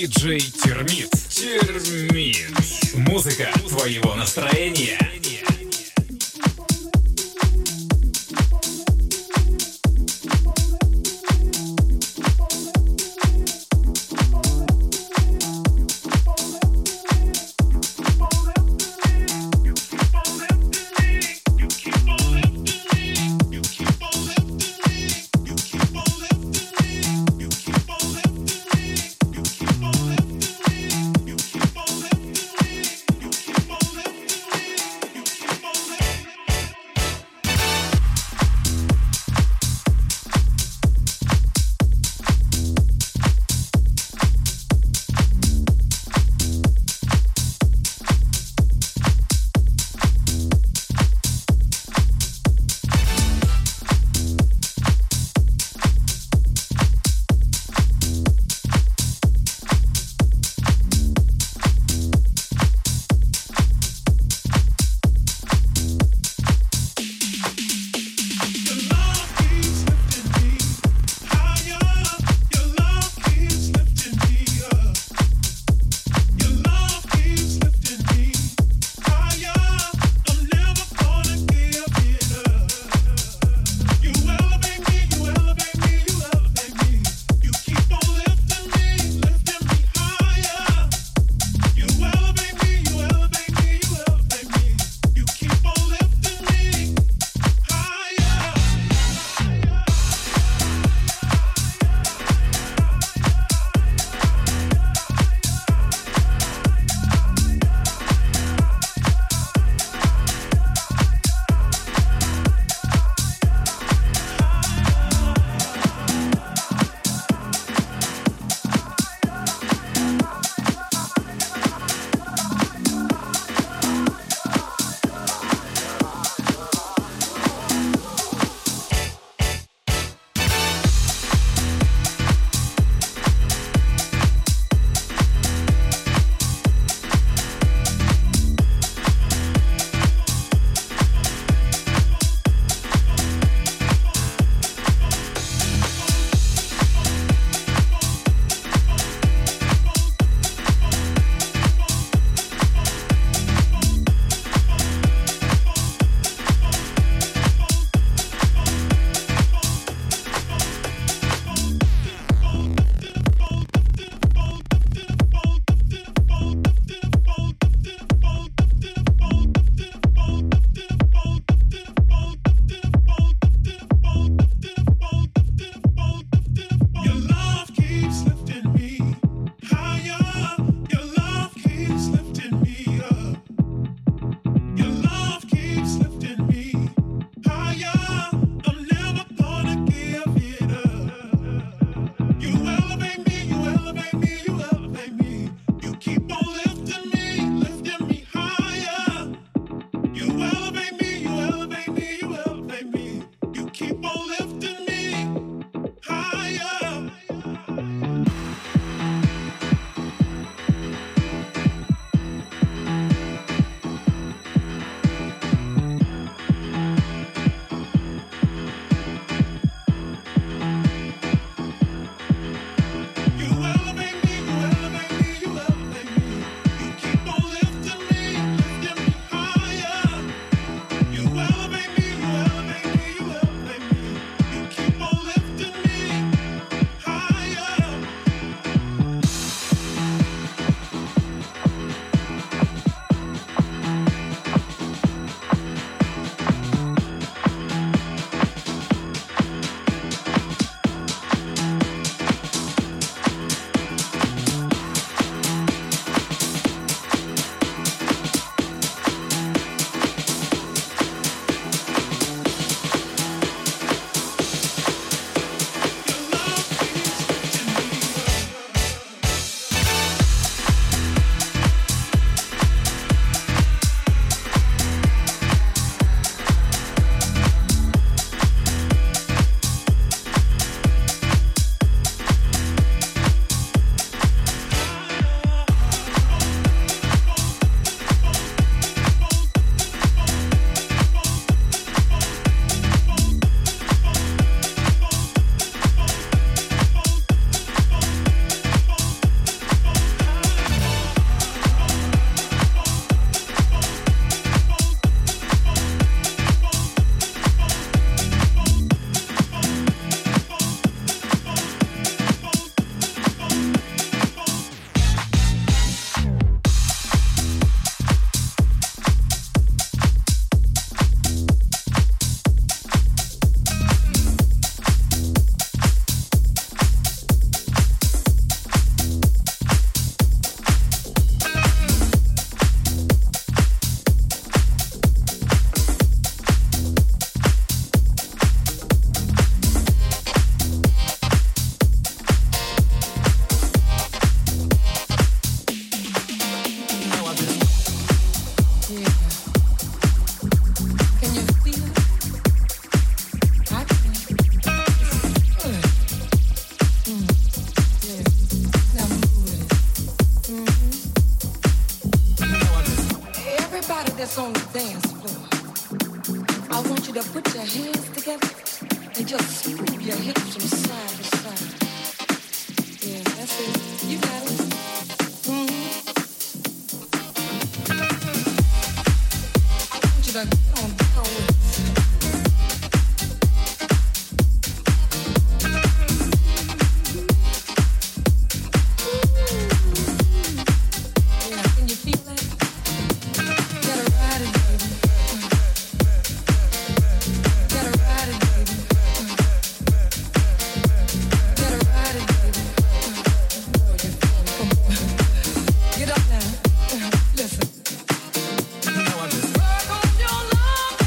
Диджей Термит. Термит. Музыка твоего настроения. on the dance floor. I want you to put your hands together and just move your hips from side to side. Yeah, that's it. You got it. Mm-hmm. I want you to get on down with it. Listen. You know I just work on your love.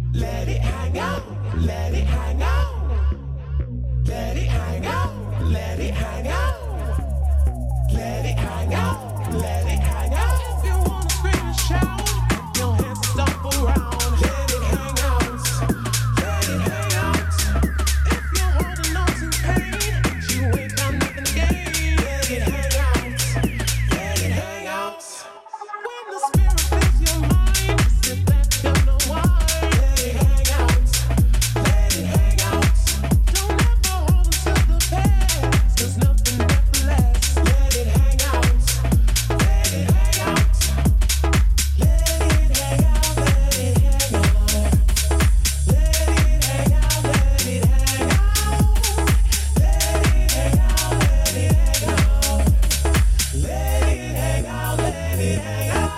Let it hang out, let it hang out. Let it hang out, let it hang out. Let it hang out, let it hang out. If you wanna scream and shout, your hands stomp around. Let it hang out, let it hang out. If you're holding on to pain, you ain't got nothing to gain. Let it hang out, let it hang out. When the spirit fills your mind, sit back and unwind. Let it hang out, let it hang out. Don't ever hold on to the past, 'cause nothing ever lasts. Let it hang out, let it hang out. Let it hang out, let it hang out. Let it hang out, let it hang out. Let it hang out, let it hang out. Let it hang out, let it hang out.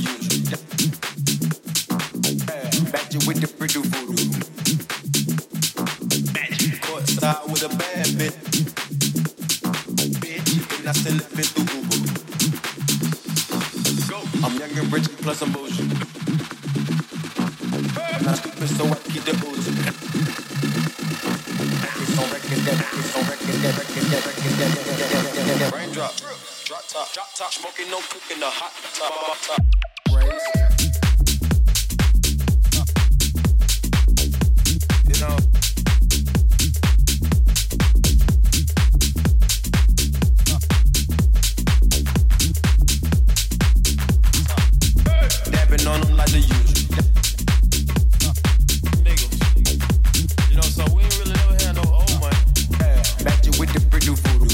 usual. Back you with the pretty voodoo. Courtside with a bad bitch. And I still live it through Uber. I'm young and rich plus I'm bullshit. I'm not stupid so I keep the oozing. Raindrop, drop top, smoking, no cooking, the hot top. Raise. You know. Dabbing on them like the usual. Niggas. You know, so we ain't really never had no old money. Back you with the pretty voodoo.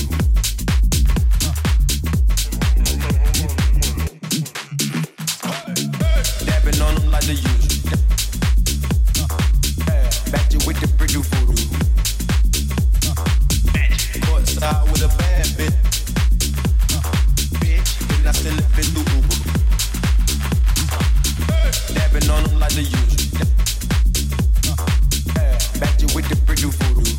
Dabbing on them like the usual. Back you with the pretty voodoo. Courtside with a bad bitch. And I still live it through Uber. Dabbing on them like the usual. Back you with the pretty voodoo.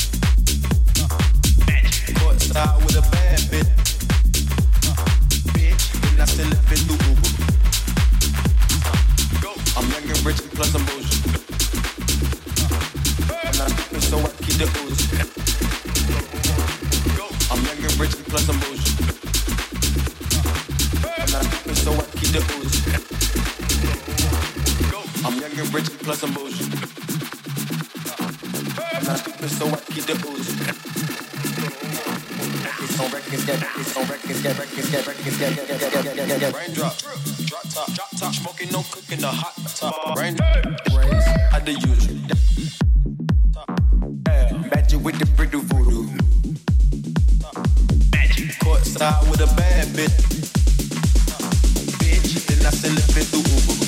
Courtside with a bad bitch. And I still live it through Uber. I'm young and rich plus I'm bullshit. I'm not stupid so I keep the ooze. I'm young and rich plus I'm bullshit. I'm not stupid so I keep the ooze. I'm young and rich plus I'm bullshit. I'm not stupid so I keep the ooze. Raindrop, drop top, smoking, no cooking, the hot top. Raindrop, raise, I the usual. Back you with the pretty voodoo. Courtside with a bad bitch. Then I still live it through Uber.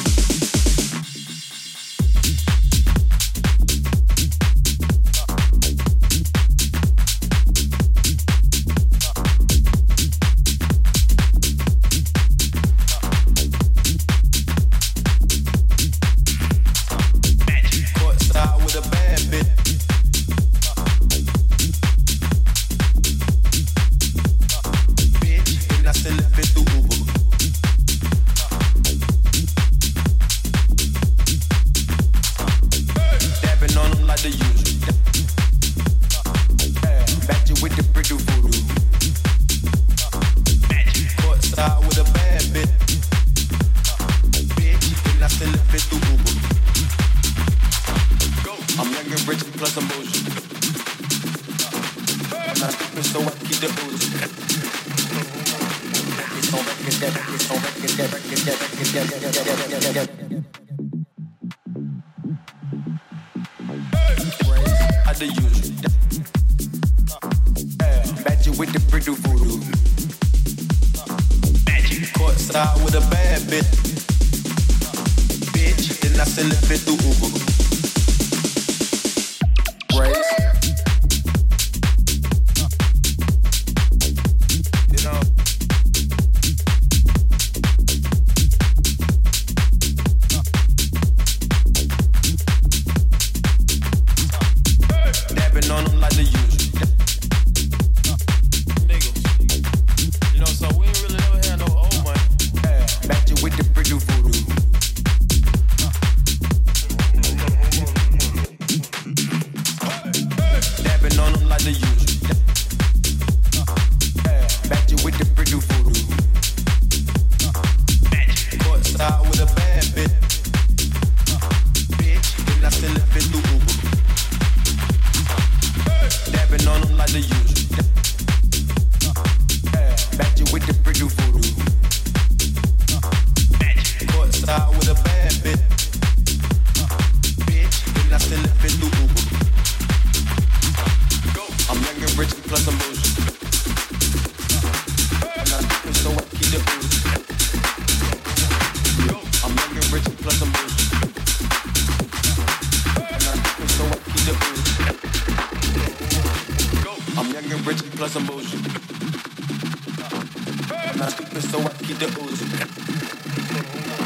I'm not stupid, so I keep the ooze.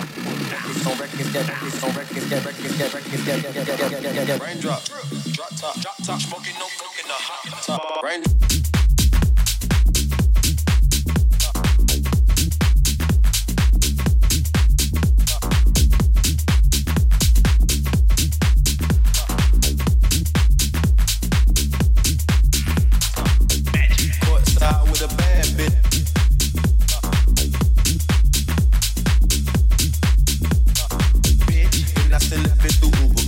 Raindrop, drop top, smoking, no cooking, the hot top. Rain. Courtside with a bad bitch. Bitch, and I still left it through Uber.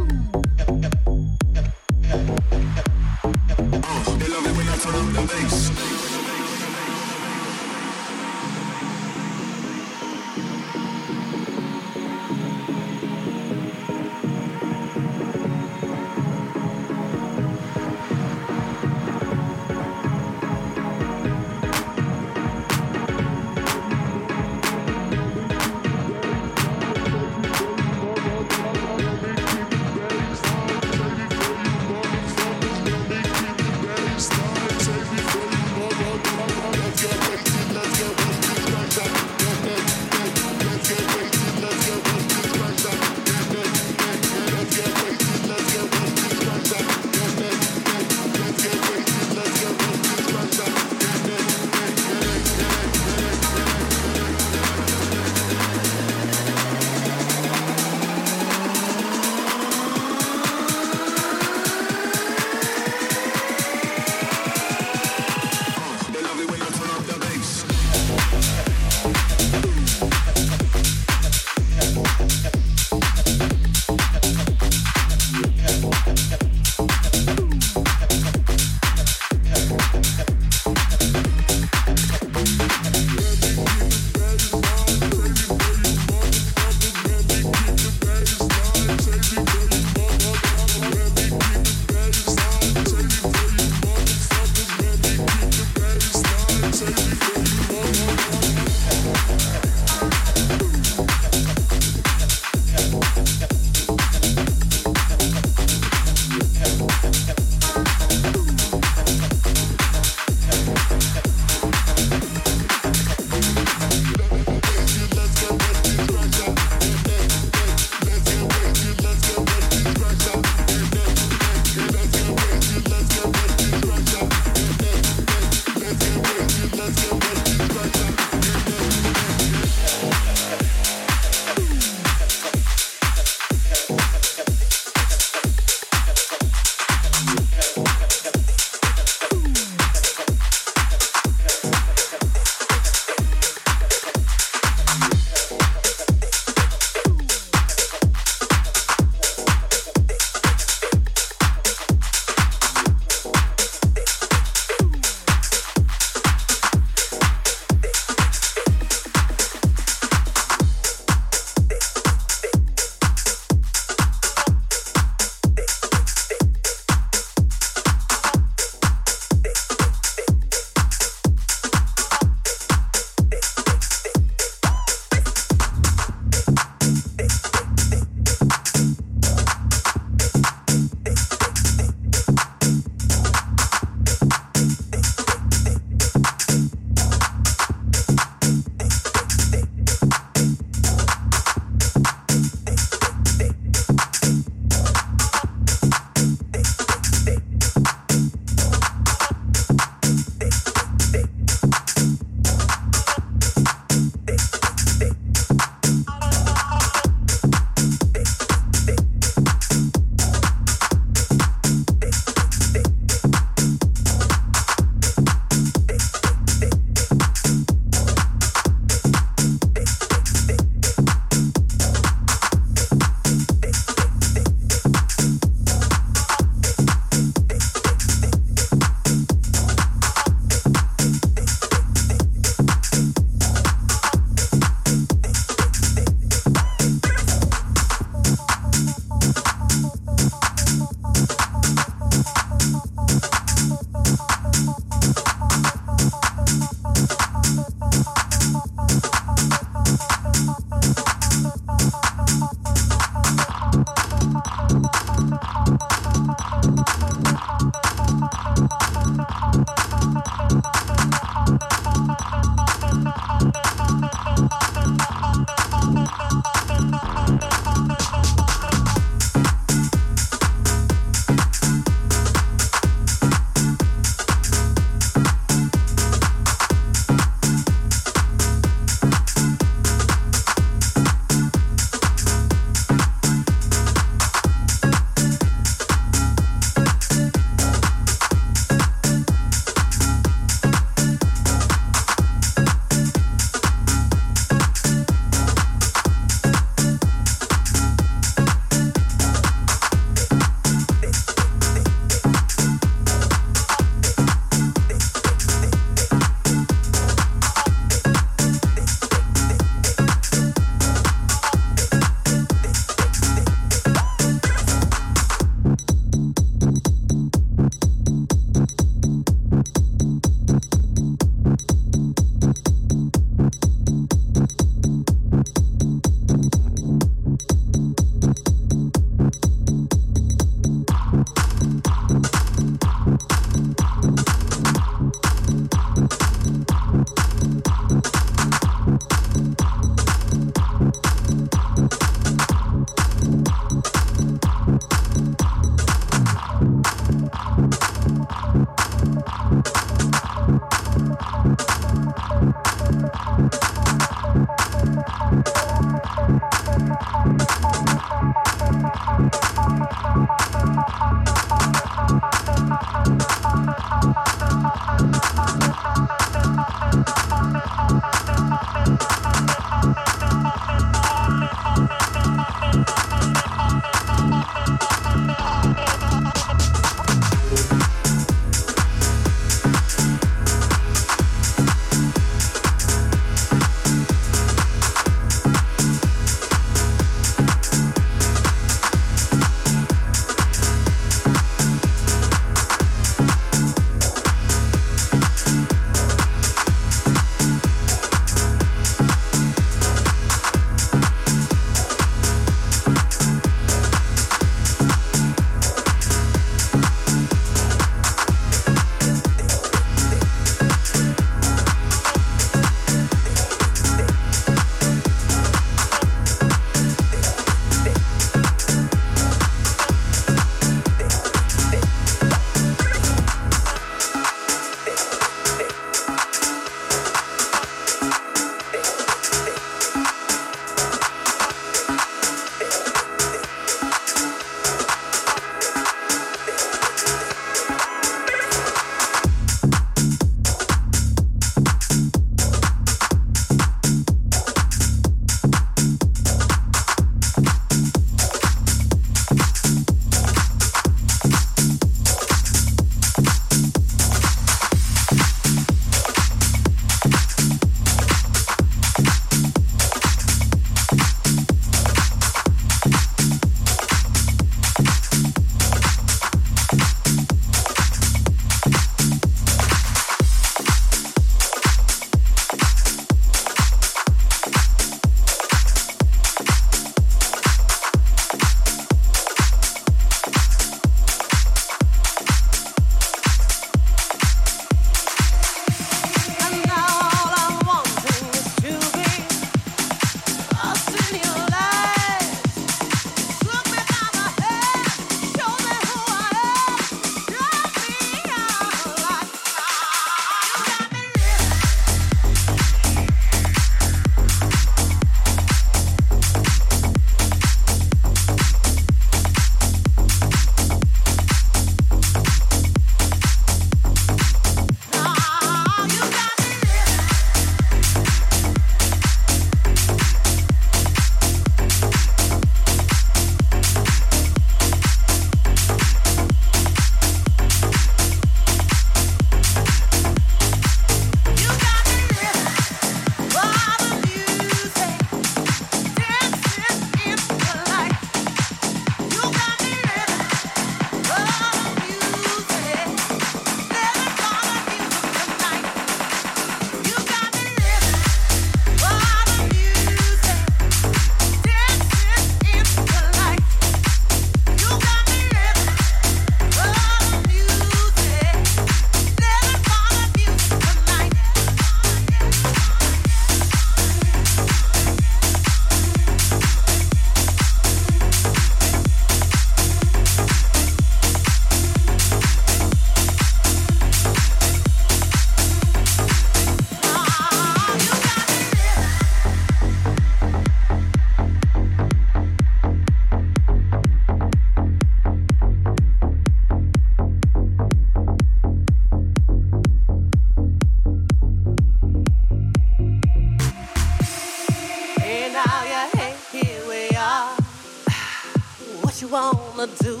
what you wanna do.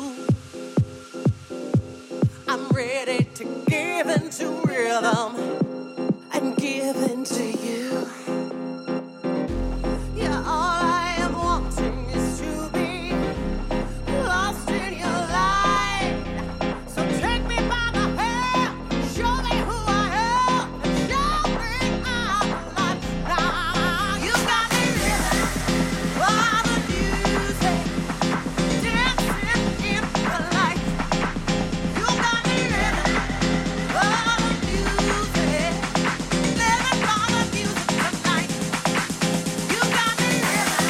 I'm ready to give into rhythm and give into you. Yeah, all I am wanting is to be lost in your light. So take me by the hand, show me who I am, and show me I'm alive. Now you got me living by the music, dancing in the light. You got me living by the music, living by the music tonight. You got me living.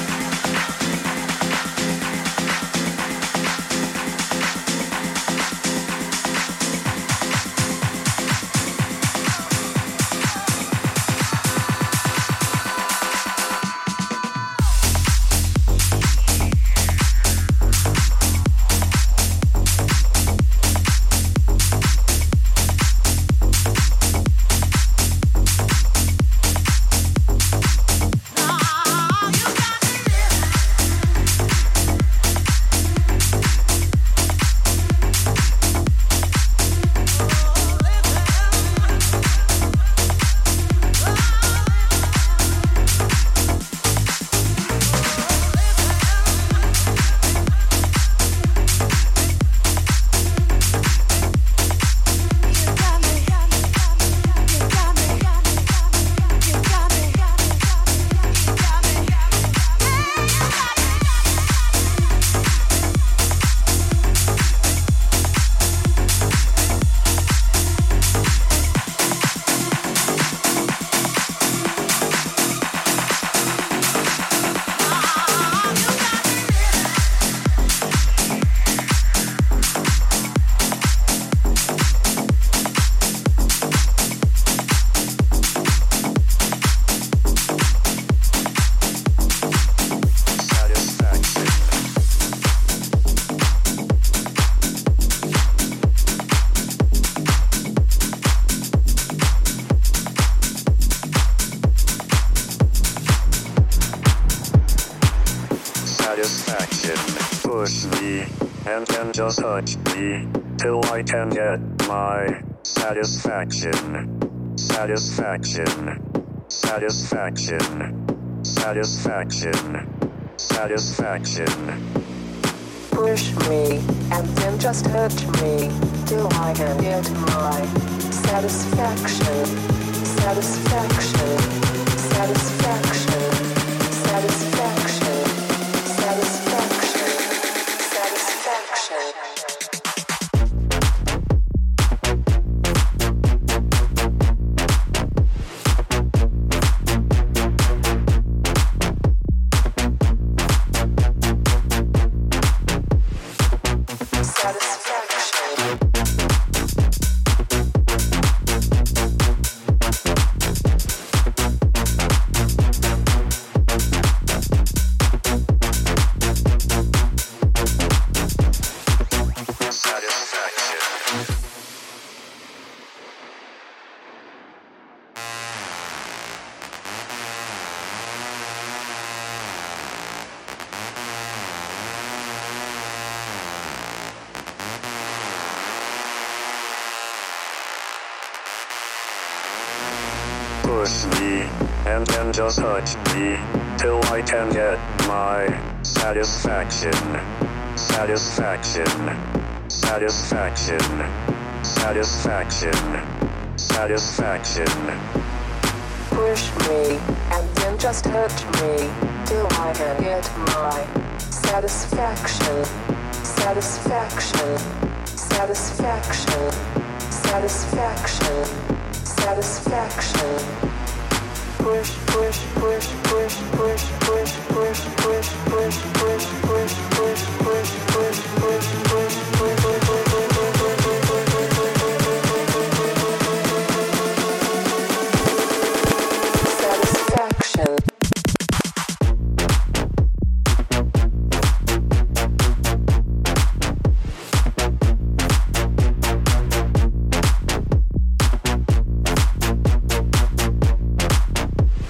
Satisfaction, push me, and then just touch me, till I can get my satisfaction. Satisfaction, satisfaction, satisfaction, satisfaction. Push me, and then just touch me, till I can get my satisfaction. Satisfaction, satisfaction, satisfaction, satisfaction, satisfaction. Push me, and then just touch me, till I can get my satisfaction. Satisfaction, satisfaction, satisfaction, satisfaction. Push me, and then just touch me, till I can get my satisfaction. Satisfaction, satisfaction, satisfaction, satisfaction. Push, push, push, push, push, push, push, push, push, push, push, push, push, push, push, push, satisfaction.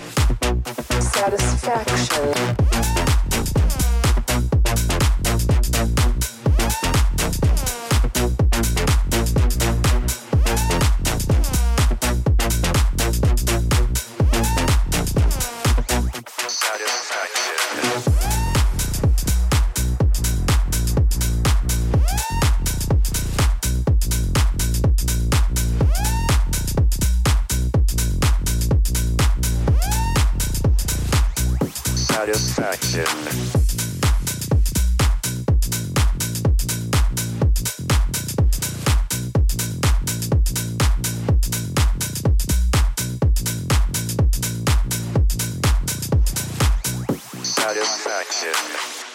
Satisfaction. Satisfaction. Satisfaction.